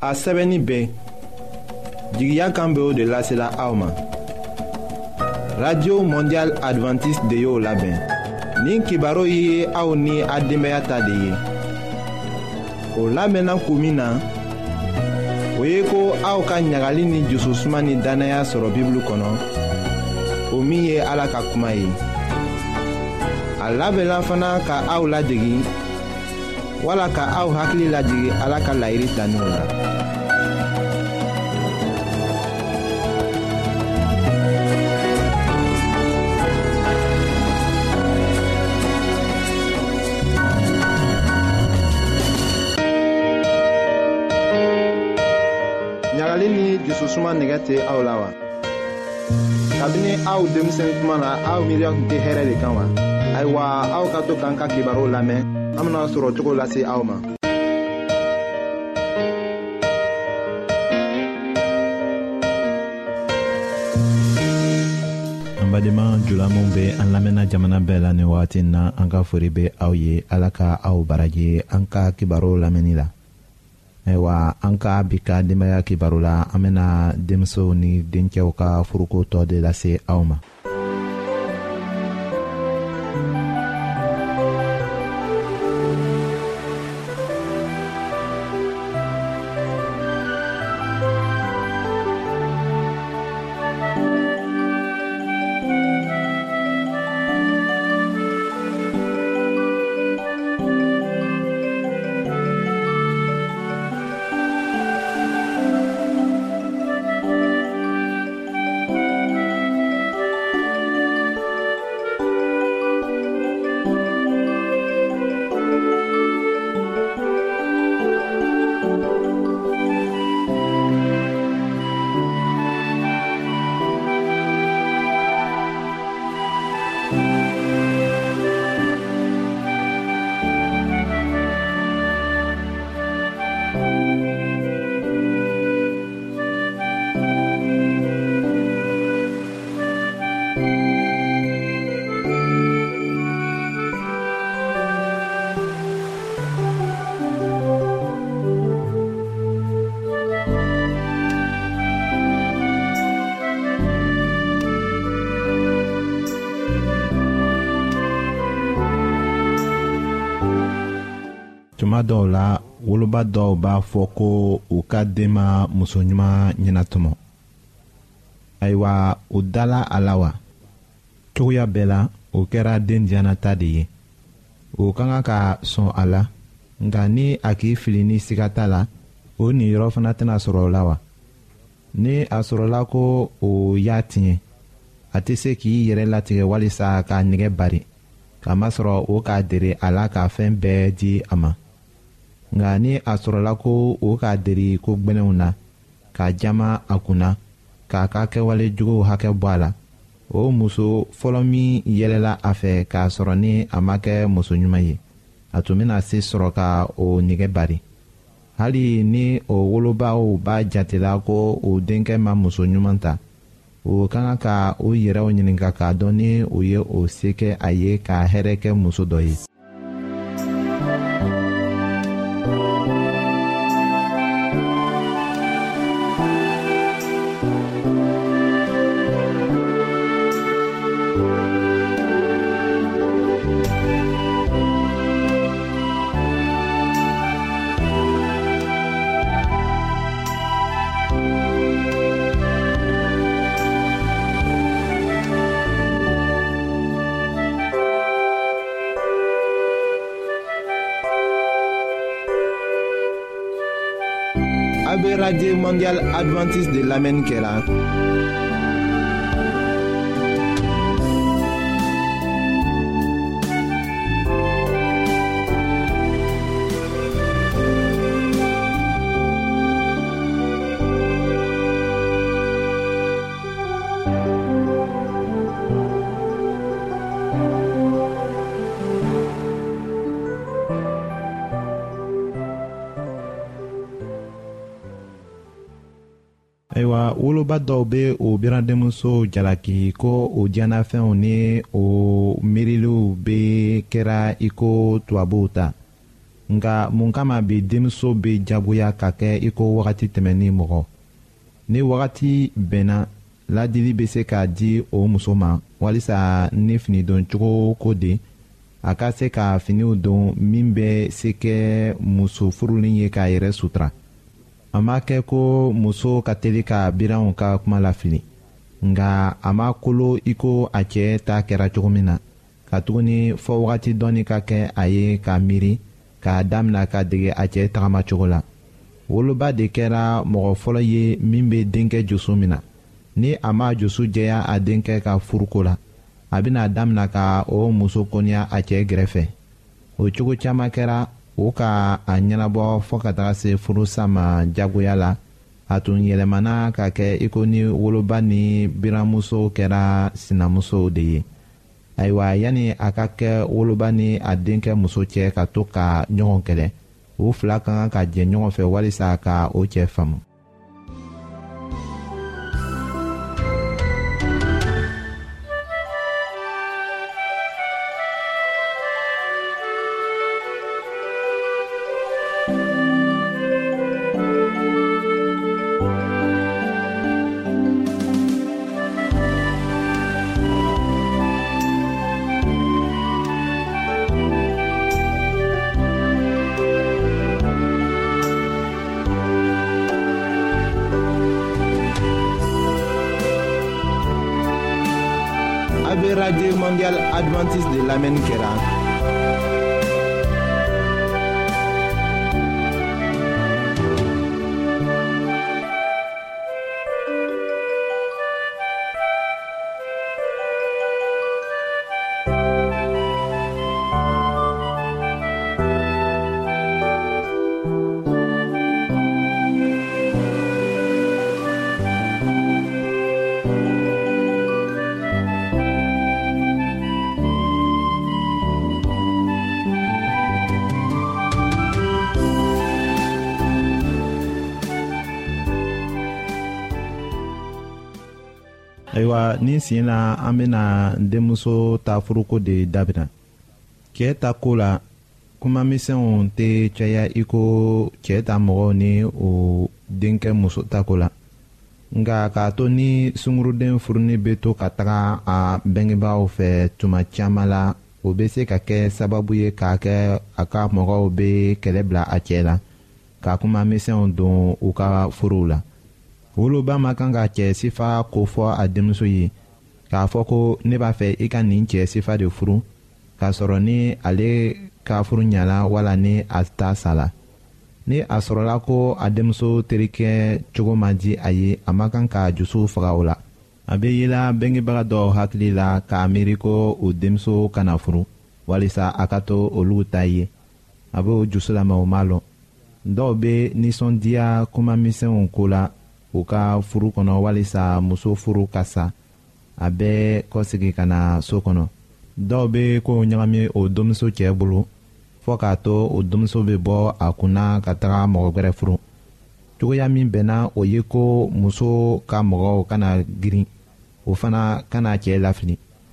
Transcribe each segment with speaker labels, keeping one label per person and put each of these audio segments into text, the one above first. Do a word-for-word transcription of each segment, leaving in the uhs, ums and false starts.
Speaker 1: a sɛbɛnni bɛɛ jigiya kan bɛ o de lasela aw ma. Radio Mondial Adventiste de y'o labɛn. Nin kibaru ye aw ni a denbaya ta de ye. O labɛnna kun min na, o ye ko aw ka ɲagali ni jususuma ni danaya sɔrɔ Bibulu kɔnɔ, o min ye Ala ka kuma ye. A labɛnna fana ka aw ladegi, wala ka aw hakili lajigi Ala ka laɲini taniw la. ɲagali ni jususuma nɛgɛ tɛ aw la wa? Kabini aw denmisɛn kuma na aw miiriya tun tɛ hɛrɛ de kan wa? Ayiwa, aw ka to k'an ka kibaru lamɛn, an bena sɔrɔ cogo lase aw ma.
Speaker 2: An badenma jula min bɛ an lamɛnna jamana bɛɛ la nin wagati na, an ka fori bɛ aw ye. Ala ka aw baraji an ka kibaru lamɛnni la. Ayiwa, an ka bi ka denbaya kibaru la, an bena denmusow ni dencɛw ka furuko tɔ de lase aw ma. Tuma dɔw la, woloba dɔw b'a fɔ ko u ka den ma muso ɲuman ɲɛnatɔmɔ. Ayiwa, u dala a la wa? Cogoya bɛɛ la, o kɛra den diyanata de ye. O ka kan ka sɔn a la, nka ni a k'i fili ni siga t'a la, o niyɔrɔ fana tɛna sɔrɔ o la wa? Ni a sɔrɔla ko o y'a tiɲɛ, a tɛ se k'i yɛrɛ latigɛ walisa k'a nɛgɛ bari, kamasɔrɔ o k'a dere a la ka fɛn bɛɛ di a ma. Nka ni a sɔrɔla ko o k'a deri ko gbɛnɛw na, k'a jama a kunna, k'a ka kɛwale juguw hakɛ bɔ a la, o muso fɔlɔ min yɛlɛla a fɛ k'a sɔrɔ ni a ma kɛ muso ɲuman ye, a tun bɛna se sɔrɔ ka o nɛgɛ bari. Hali ni o wolobaw b'a jatela ko o denkɛ ma muso ɲuman ta, o ka kan ka o yɛrɛw ɲininka k'a dɔn ni o ye o se kɛ a ye ka hɛrɛ kɛ muso dɔ ye.
Speaker 1: A bɛ Radio Mondial Adventiste de lamɛnni kɛra.
Speaker 2: Ayiwa, woloba dɔw bɛ o biradenmuso jalaki ko o diɲɛnafɛnw ni o miiriliw bɛ kɛra i ko tubabuw ta. nka mun kama bi denmuso bɛ jagoya ka kɛ i ko wagati tɛmɛni mɔgɔ ni wagati bɛnna ladili bɛ se k'a di o muso ma walisa ni fini don cogo ko de a ka se ka finiw don min bɛ se kɛ muso furulen ye k'a yɛrɛ sutura a ma kɛ ko muso ka teli ka biranw ka kuma lafili nka a ma kolo i ko a cɛ ta kɛra cogo min na ka tuguni fɔ wagati dɔɔni ka kɛ a ye k'a miiri k'a damina ka dege a cɛ tagamacogo la woloba de kɛra mɔgɔ fɔlɔ ye min bɛ denkɛ joso min na ni a ma joso jɛya a denkɛ ka furuko la a bɛna damina ka o muso kɔniya a cɛ gɛrɛfɛ o cogo caman kɛra o ka a ɲɛnabɔ fɔ ka taga se furusa ma jagoya la a tun yɛlɛmana ka kɛ i ko ni woloba ni biranmuso kɛra sinamusow de ye ayiwa yanni a ka kɛ woloba ni a denkɛ muso cɛ ka to ka ɲɔgɔn kɛlɛ u fila ka kan ka jɛ ɲɔgɔn fɛ walisa ka o cɛ faamu. Radio Mondial Adventiste de l'Amen Kera. ayiwa nin sen na an bena denmuso ta furuko de dabila cɛɛ ta ko la kumamisɛnw tɛ caya i ko cɛɛ ta mɔgɔw ni o denkɛ muso ta ko la nka k'a to ni sunguruden furuni bɛ to ka taga a bɛngebaaw fɛ tuma caman la o bɛ se ka kɛ sababu ye k'a kɛ a ka mɔgɔw bɛ kɛlɛ bila a cɛ la ka kumamisɛnw don u ka furuw la woloba ma kan ka cɛ sifa ko fɔ a denmuso ye k'a fɔ ko ne b'a fɛ i ka nin cɛ sifa de furu k'a sɔrɔ ni ale ka furu ɲala wala ni a ta sala ni a sɔrɔla ko a denmuso terikɛ cogo ma di a ye a ma kan ka jusu faga o la a bɛ yela bengebaga dɔw hakili la k'a miiri ko o denmuso kana furu walisa a ka to olu ta ye a bɛ o jusu lamɛn o ma lɔn dɔw bɛ nisɔndiya kumamisɛnw ko la u ka furu kɔnɔ walisa muso furu ka sa a bɛ kɔsegi ka na so kɔnɔ dɔw bɛ ko ɲagami o denmuso cɛ bolo fɔ k'a to o denmuso bɛ bɔ a kunna ka taga mɔgɔ wɛrɛ furu cogoya min bɛnna o ye ko muso ka mɔgɔw kana girin o fana kana cɛ lafili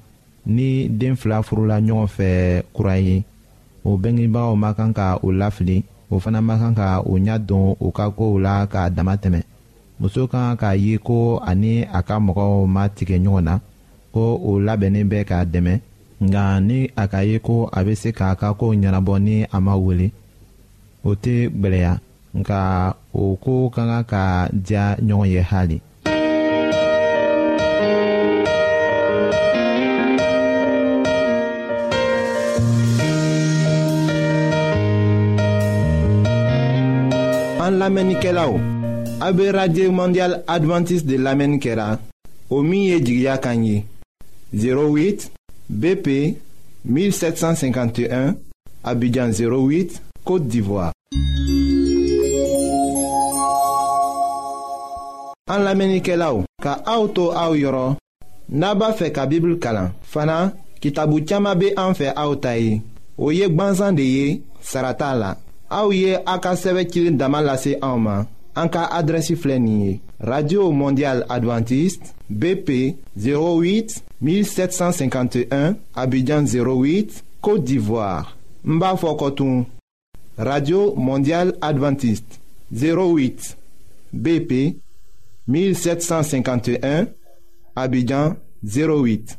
Speaker 2: ni den fila furula ɲɔgɔn fɛ kura ye o bɛngebagaw ma kan ka o lafili o fana ma kan ka o ɲɛ don o ka kow la k'a dama tɛmɛ muso kan k'a ye ko ani a ka mɔgɔw ma tigɛ ɲɔgɔn na ko o labɛnnen bɛ k'a dɛmɛ nka ni a ka ye ko a bɛ se k'a ka kow ɲɛnabɔ ni a ma wele o tɛ gwɛlɛya nka o ko ka kan ka diya ɲɔgɔn ye hali.
Speaker 1: An lamɛnnikɛlaw a bɛ radio mondial adventiste de lamɛnni kɛra o min ye jigiya kan ye zéro huit B P mille sept cent cinquante et un Abidjan zéro huit Côte d'Ivoire. An lamɛnnikɛlaw ka aw to aw yɔrɔ n'a b'a fɛ ka Bible kalan fana kitabu caman bɛ an fɛ aw ta ye o ye gwanzan de ye sara t'a la aw ye a ka sɛbɛn cilen dama lase anw ma an ka adrɛsi filɛ nin ye radio mondial adventiste B P zéro huit mille sept cent cinquante et un Abidjan zéro huit Côte d'Ivoire n b'a fɔ kɔtun Radio Mondiale Adventiste, zéro huit B P mille sept cent cinquante et un, Abidjan zéro huit.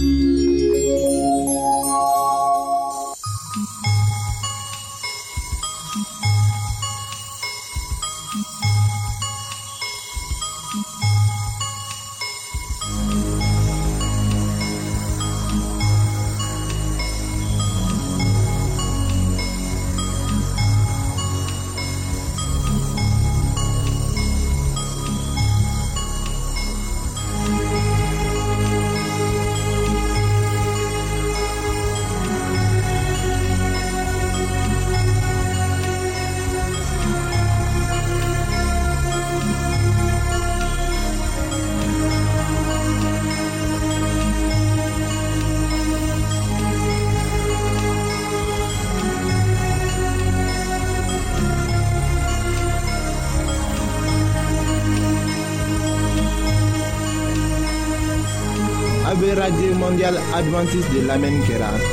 Speaker 1: Radio Mondiale Adventiste de l'Amérique.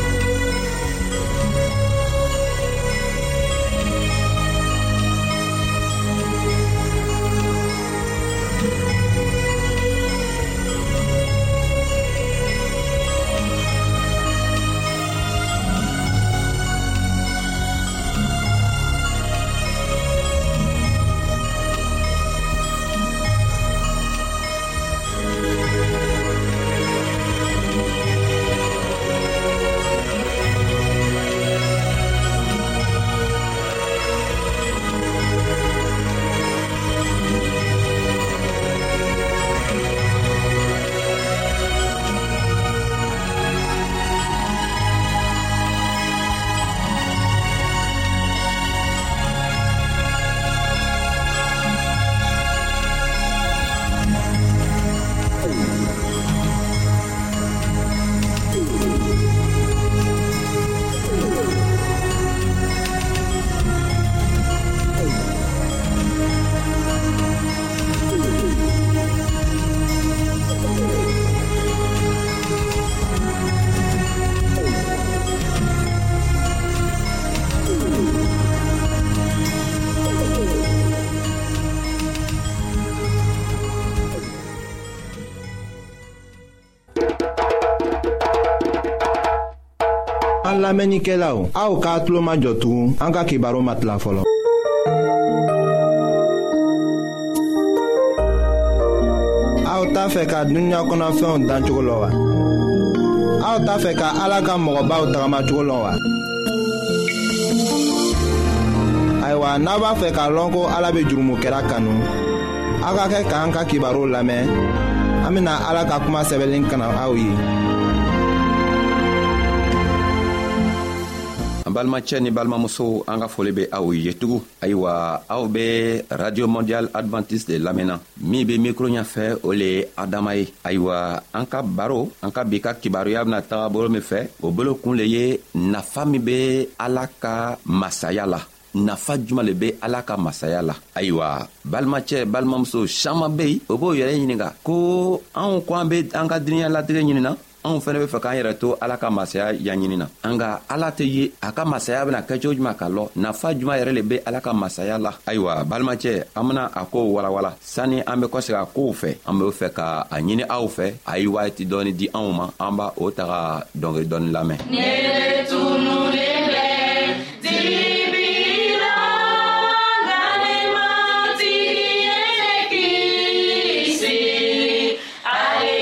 Speaker 1: An lamɛnnikɛlaw, aw k'a tulo majɔ tugun an ka kibaru matila fɔlɔ. Aw t'a fɛ ka dunuya kɔnɔfɛnw dan cogo la wa? Aw t'a fɛ ka Ala ka mɔgɔbaw tagamacogo la wa? Ayiwa, n'a b'a fɛ k'a lɔn ko Ala bɛ jurumokɛla kanu, aw ka kɛ k'an ka kibaru lamɛn. An bɛna Ala ka kuma sɛbɛnlen kana aw ye.
Speaker 3: Balimacɛ ni balimamuso, an ka foli bɛ aw ye tugun. Ayiwa, aw bɛ Radio Mondiale Adventiste de lamɛnna. Min bɛ micro ɲɛfɛ o le ye Adama ye. Ayiwa, an ka baro, an ka bi ka kibaruya bɛna taga bolo min fɛ, o bolo kun le ye nafa min bɛ Ala ka masaya la. Nafa juma le bɛ Ala ka masaya la. Ayiwa, balimacɛ balimamuso caman bɛ yen, o b'o yɛrɛ ɲininka ko anw ko an bɛ an ka diɲɛ latigɛ ɲinina, anw fɛnɛ bɛ fɛ k'an yɛrɛ to Ala ka masaya ɲaɲinina. Nka Ala tɛ ye a ka masaya bɛna kɛ cogo jumɛn ka lɔ, nafa juma yɛrɛ le bɛ Ala ka masaya la. Ayiwa, balimacɛ, an bɛna a ko walawala sani an bɛ kɔsegin a kow fɛ. An bɛ fɛ ka a ɲini aw fɛ, a ye waati dɔɔni di anw ma, an b'a o ta ka dɔnkili dɔɔni lamɛn. Ne tunulen bɛ dibira nganimati yekisi ale.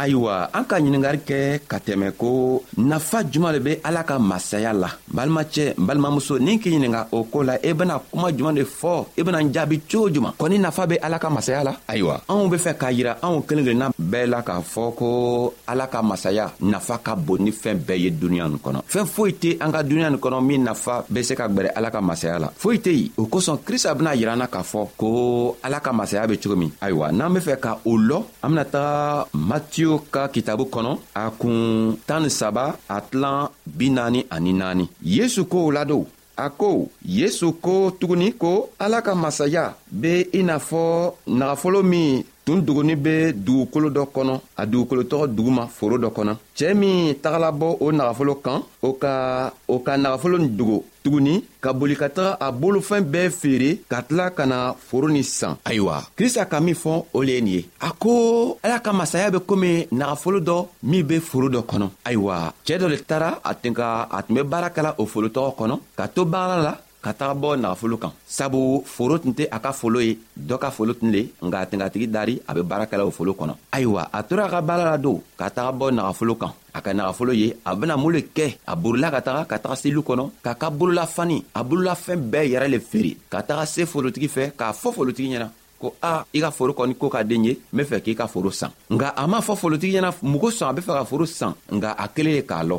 Speaker 3: ayiwa an ka ɲiningari kɛ ka tɛmɛ ko nafa juman le be ala ka masaya la. Balimacɛ balimamuso ni k'i ɲininga o ko la e bena kuma juman de fɔ e bena jaabi cogo juman kɔni nafa be ala ka masaya la. Ayiwa anw be fɛ k'a yira anw kelen kelenna bɛɛ la k'a fɔ ko ala ka masaya nafa ka bon ni fɛn bɛɛ ye duniɲa nin kɔnɔ. Fɛn foyi tɛ an ka duniɲa nin kɔnɔ min nafa be se ka gwɛrɛ ala ka masaya la, foyi tɛ yen. O kosɔn krista bena yir'an na k'a fɔ ko ala ka masaya be cogo min. Ayiwa n'an be fɛ ka o lɔ an bena taga matiyu ka kitabu kɔnɔ a kun tan ni saba a tilan bi naani ani naani. Yesu ko o ladon a ko Yesu ko tuguni ko ala ka masaya be i n'a fɔ nagafolo min tun dogoni be dugukolo dɔ kɔnɔ a dugukolo tɔgɔ duguma foro dɔ kɔnɔ. Cɛɛ min tagala bɔ o nagafolo kan o ka o ka nagafolo nin dogo tuguni ka boli ka taga a bolofɛn bɛɛ feere ka tila ka na foro ni san. Ayiwa krista ka min fɔ o le ye nin ye a ko ala ka masaya be komi nagafolo dɔ min be foro dɔ kɔnɔ. Ayiwa cɛɛ dɔ le taara a tun ka a tun be baara kɛla o foro tɔgɔ kɔnɔ ka to baara la ka taga bɔ nagafolo kan sabu foro tun tɛ a ka folo ye dɔ ka folo tun le nka a tun ka tigi dari a be baara kɛla o folo kɔnɔ. Ayiwa a tora a ka baara la don ka taga bɔ nagafolo kan a ka nagafolo ye a bena mun le kɛ a borila ka taga ka taga selu kɔnɔ k'a ka bololafani a bololafɛn bɛɛ yɛrɛ le feere ka taga se forotigi fɛ k'a fɔ forotigi ɲɛna ko a i ka foro kɔni ko ka den ye n be fɛ k'i ka foro san. Nga a m'a fɔ forotigi ɲɛna mugo sɔn a be fɛ ka foro san nga a kelen ye k'a lɔ.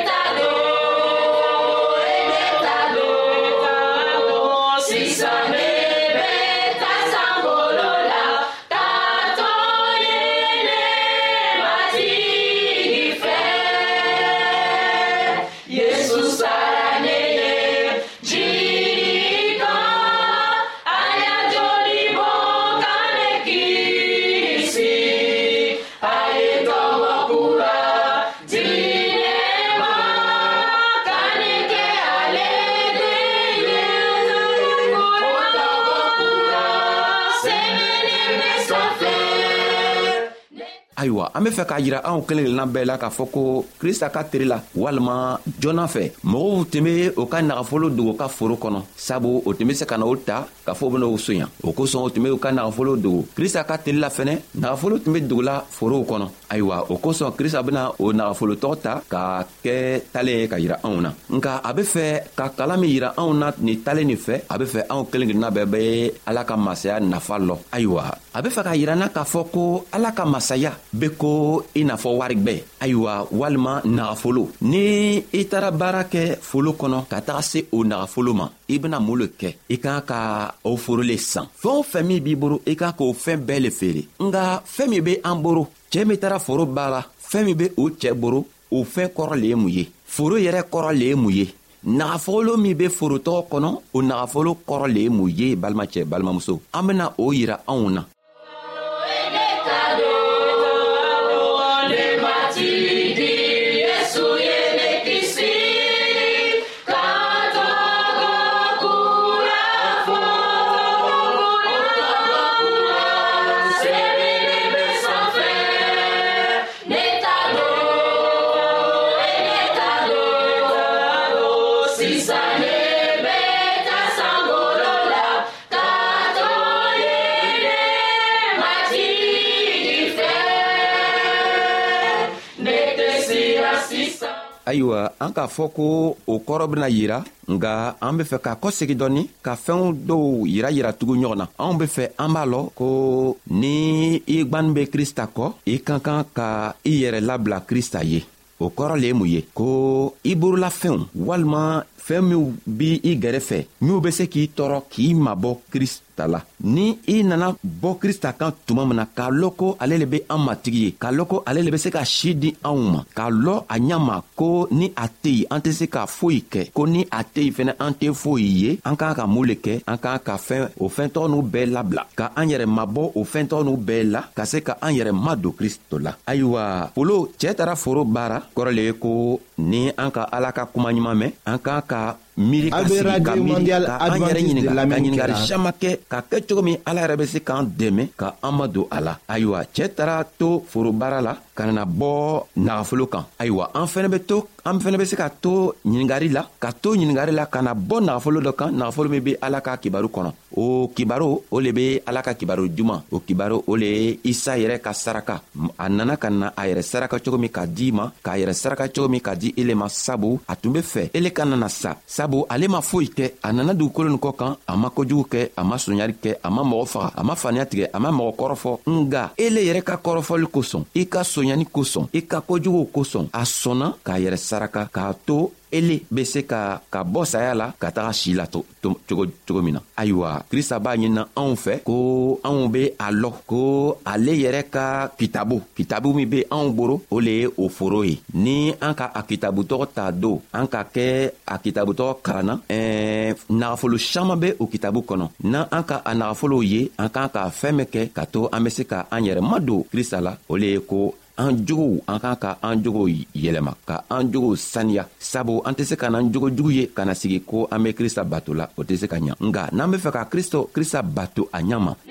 Speaker 3: Ayiwa an be fɛ k'a yira anw kelen kelenna bɛɛ la k'a fɔ ko krista ka teri la walima jɔnna fɛ mɔgɔw tun be o ka nagafolo dogo ka foro kɔnɔ sabu o tun be se ka na o ta k'a fɔ o bena o soɲa. O kosɔn o tun be o ka nagafolo dogo krista ka teri la fɛnɛ nagafolo tun be dogola forow kɔnɔ. Ayiwa o kosɔn krista bena o nagafolo tɔgɔ ta k'a kɛ talen ye ka yira anw na nka a be fɛ ka kala min yira anw na nin talen nin fɛ a be fɛ anw kelen kelenna bɛɛ be ala ka masaya nafa lɔ. Ayiwa a be fɛ ka yira na k'a fɔ ko ala ka masaya be ko i n'a fɔ warigwɛ ayiwa walima nagafolo. Ni i taara baara kɛ folo kɔnɔ ka taga se o nagafolo ma i bena mun le kɛ i kan ka o foro le san. Fɛn o fɛn min b'i boro i kan k'o fɛn bɛɛ le feere nga fɛn min be an boro cɛɛ min taara foro baara fɛn min be o cɛɛ boro o fɛn kɔrɔ le ye mun ye foro yɛrɛ kɔrɔ le ye mun ye nagafolo min be forotɔgɔ kɔnɔ o nagafolo kɔrɔ le ye mun ye balimacɛ balimamuso an bena o yira anw na. Ayiwa an k'a fɔ ko o kɔrɔ bena yira nga an be fɛ k'a kɔsegi dɔɔni ka fɛnw dɔw yira yira tugu ɲɔgɔn na. Anw be fɛ an b'a lɔ ko ni i gwani be krista kɔ i ka kan ka i yɛrɛ labila krista ye. O kɔrɔ le ye mun ye ko i borolafɛnw walima fɛn minw b' i gɛrɛfɛ minw be se k'i tɔɔrɔ k'i mabɔ krista la. Ni i nana bɔ krista kan tuma min na k'a lɔn ko ale le be an matigi ye k'a lɔn ko ale le be se ka si di anw ma k'a lɔn a ɲa ma ko ni a tɛ yen an tɛ se ka foyi kɛ ko ni a tɛ yen fɛnɛ an tɛ foyi ye an k'an ka mun le kɛ an k'an ka fɛn o fɛntɔgɔ n'u bɛɛ labila ka an yɛrɛ mabɔ o fɛntɔgɔ n'u bɛɛ la ka se ka an yɛrɛ madon kristo la. Ayiwa polo cɛɛ taara foro baara kɔrɔ le ye ko ni an ka ala ka kuma ɲuman mɛn an k'an ka miiri ka sigi ka miiri ka an yɛrɛ ɲininga ka ɲiningari saman kɛ ka kɛ cogo min ala yɛrɛ bɛ se k'an dɛmɛ ka an ma don a la. Ayiwa, cɛɛ taara to forobaara la ka na bɔ nagafolo kan. Ayiwa, an fɛnɛ bɛ to an fɛnɛ bɛ se ka to ɲiningari la ka to ɲiningari la ka na bɔ nagafolo dɔ kan, nagafolo min bɛ ala ka kibaru kɔnɔ. O kibaru o le bɛ ala ka kibaru juman. O kibaru o le ye isa yɛrɛ ka saraka. A nana ka na a yɛrɛ saraka cogo min ka di ma, k'a yɛrɛ saraka cogo min ka di ele ma, sabu a tun bɛ fɛ ele ka nana sa, sabu ale ma foyi kɛ. A nana dugukolo nin kɔ kan, a ma kojugu kɛ, a ma soɲari kɛ, a ma mɔgɔ faga, a ma faniya tigɛ, a ma mɔgɔ kɔrɔfɔ. Nga ele yɛrɛ ka kɔrɔfɔli kosɔn, i ka soɲani kosɔn, i ka kojugu kosɔn, a sɔnna k'a yɛrɛ saraka k'a to ele be se ka ka bɔ saya la ka taga si la to, to, cogo, cogo min na. Ayiwa, Krista b'a ɲinina anw fɛ ko anw be a lɔ ko ale yɛrɛ ka kitabu kitabu min be anw boro o le ye o foro ye. Ni an ka a kitabu tɔgɔ ta don an ka kɛ a kitabu tɔgɔ karanna, ɛɛ nagafolo saman be o kitabu kɔnɔ. Na an ka a nagafolow ye, an kan ka fɛn min kɛ ka to an be se ka an yɛrɛ madon Krista la, o le ye ko an jogow an kan ka an jogow yɛlɛma ka an jogow saniya, sabu an tɛ se ka n'an jogo jugu ye ka na sigi ko an bɛ Krista bato la, o tɛ se ka ɲa. Nga n'an bɛ fɛ ka Kristo Krista bato a ɲa ma,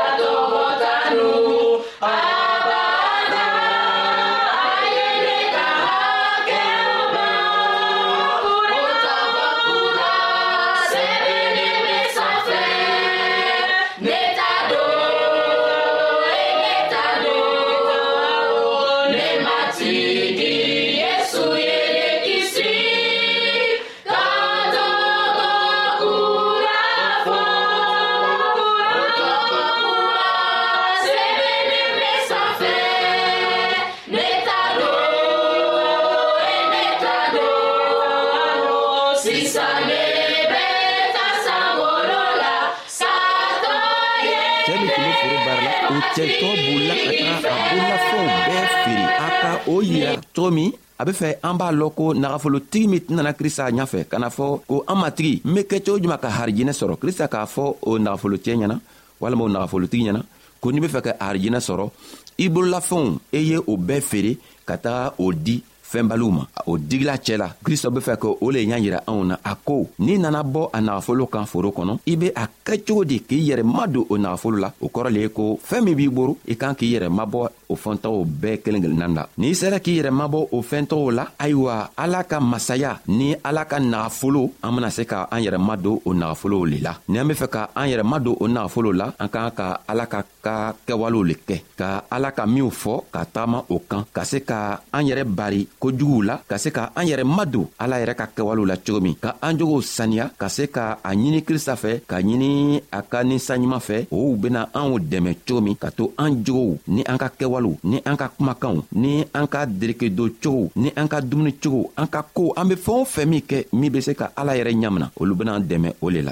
Speaker 3: cɛtɔ bolila ka taga a bolilafɛnw bɛɛ feere a ka o yira cogo min a be fɛ an b'a lɔn ko nagafolotigi min nana Krista ɲafɛ ka na fɔ ko an matigi n be kɛ cogo juman ka harijinɛ sɔrɔ. Krista k'a fɔ o nagafolocɛ ɲɛna walima o nagafolotigi ɲɛna ko n'i be fɛ ka harijinɛ sɔrɔ i bololafɛnw e ye o bɛɛ feere ka taga o di fɛnbaliw ma. O digila cɛ la Krista be fɛ ka o le ɲa yira anw na. A ko n'i nana bɔ a nagafolo kan foro kɔnɔ, i be a kɛ cogo di k'i yɛrɛ madon o nagafolo la. O kɔrɔ le ye ko fɛn min b'i boro i kan k'i yɛrɛ mabɔ o fɛntɔgɔw bɛɛ kelen kelenna la. N'i sera k'i yɛrɛ mabɔ o fɛntɔgɔw la, ayiwa ala ka masaya ni ala ka nagafolo an bena se ka an yɛrɛ madon o nagafolow le la. Ni an be fɛ ka an yɛrɛ madon o nagafolo la, an kan ka ala ka ka kɛwalew le kɛ, ka ala ka minw fɔ ka tagama o kan, ka se ka an yɛrɛ bari kojuguw la, ka se ka an yɛrɛ madon ala yɛrɛ ka kɛwalew la cogo min, ka an jogow saniya, ka se ka a ɲini Krista fɛ, ka ɲini a ka ninsanɲuman fɛ. O bena anw dɛmɛ cogo min ka to an jogow ni an ka kɛwalew ni an ka kumakanw ni an ka derekedon cogow ni an ka dumuni cogow, an ka ko an be fɛn o fɛn min kɛ min be se ka ala yɛrɛ ɲamina, olu bena dɛmɛ o le la.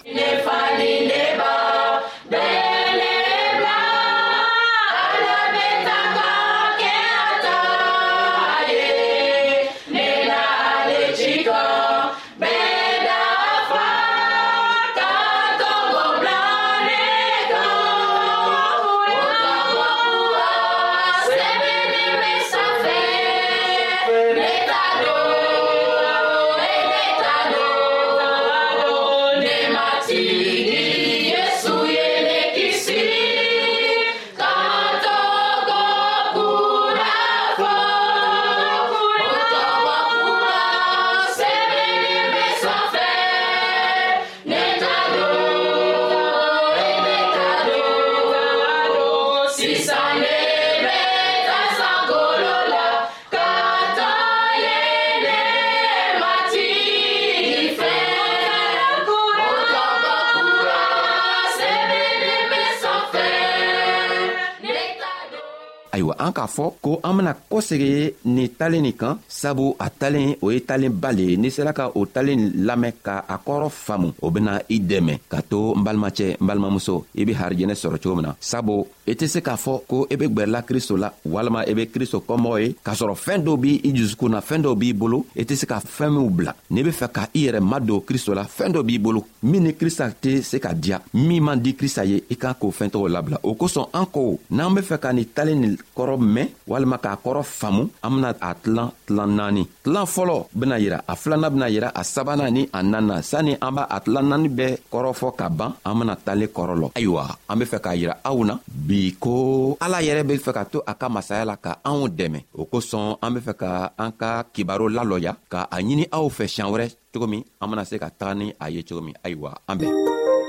Speaker 3: Ayiwa, an k'a fɔ ko an bena kɔsegi nin talen nin kan, sabu a talen o ye talenba le ye. N'i sera ka o talen lamɛn ka a kɔrɔ faamu, o bena i dɛmɛ ka to n balimacɛ n balimamuso i be harijɛnɛ sɔrɔ cogo min na. Sabu i tɛ se k'a fɔ ko i be gwɛrɛla Kristo la walima i be Kristo kɔmɔgɔ ye k'a sɔrɔ fɛɛn dɔw b'i i jusukun na, fɛɛn dɔw b'i bolo, i tɛ se ka fɛɛn minw bila. N'i be fɛ ka i yɛrɛ madon Kristo la, fɛɛn dɔ b'i bolo min ni Krista tɛ se ka diya, min man di Krista ye, i kan k'o fɛɛn tɔgɔ labila. O kosɔn an ko n'an be fɛ ka nin talen nin kɔrɔ mɛn walima k'a kɔrɔ faamu an bena a tilan tilan naani. Tilan fɔlɔ bena yira, a filanan bena yira, a sabanan ni a naaninan. Sanni an b'a a tilan naani bɛɛ kɔrɔ fɔ ka ban an bena talen kɔrɔ lɔ. Ayiwa, an be fɛ k'a yira aw na bi ko ala yɛrɛ be fɛ ka to a ka masaya la ka anw dɛmɛ. O kosɔn an be fɛ ka an ka kibaro lalɔya ka a ɲini aw fɛ siɲan wɛrɛ cogo min an bena se ka taga ni a ye cogo min. Ayiwa, an bɛn.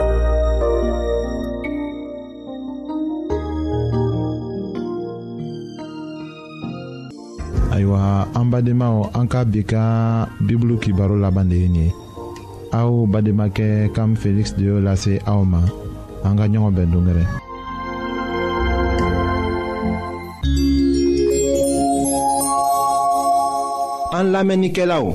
Speaker 2: Ayiwa, an badenmaw, an ka bi ka bibulu kibaro laban de ye nin ye. Aw bademakɛ Kam Felix de y'o lase aw ma. An ka ɲɔgɔn bɛn dongɛrɛ.
Speaker 1: An lamɛnnikɛlaw,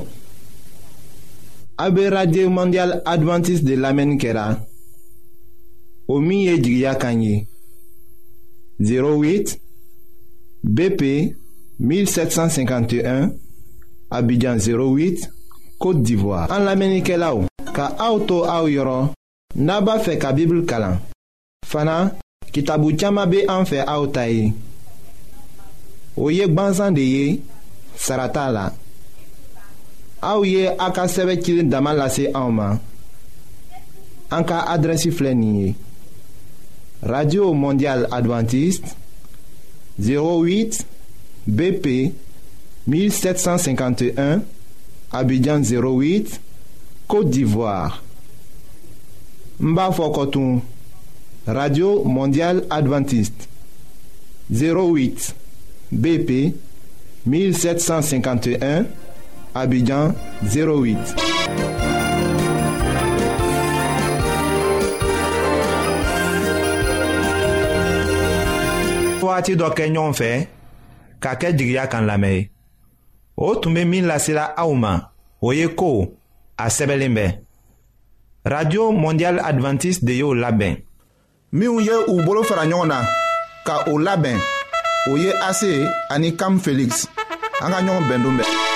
Speaker 1: a be Radio Mondial Adventiste de lamɛnni kɛra o min ye jigiya kan ye zéro huit B P mille sept cent cinquante et un Abidjan zéro huit Côte d'Ivoire. An lamɛnnikɛlaw, ka aw to aw yɔrɔ n'a b'a fɛ ka Bible kalan. Fana kitabu caaman be an fɛ aw ta ye. O ye gwanzan de ye, sara t'a la. Aw ye a ka sɛbɛ cilen dama lase anw ma. An ka adrɛsi filɛ nin ye: Radio Mondial Adventiste zéro huit B P mille sept cent cinquante et un Abidjan zéro huit Côte d'Ivoire. N b'a fɔ kɔtun: Radio Mondial Adventiste zéro huit B P mille sept cent cinquante et un Abidjan zéro huit.
Speaker 2: Waati dɔ kɛ ɲɔgɔn fɛ ka kɛ jigiya kan lamɛn ye. O tun bɛ min lasela aw ma, o ye ko a sɛbɛnlen bɛ. Radio Mondial Adventiste de y'o labɛn.
Speaker 1: Minnu ye u bolo fara ɲɔgɔn na ka o labɛn, o ye A C ani Kam Felix. An ka ɲɔgɔn bɛn don bɛɛ.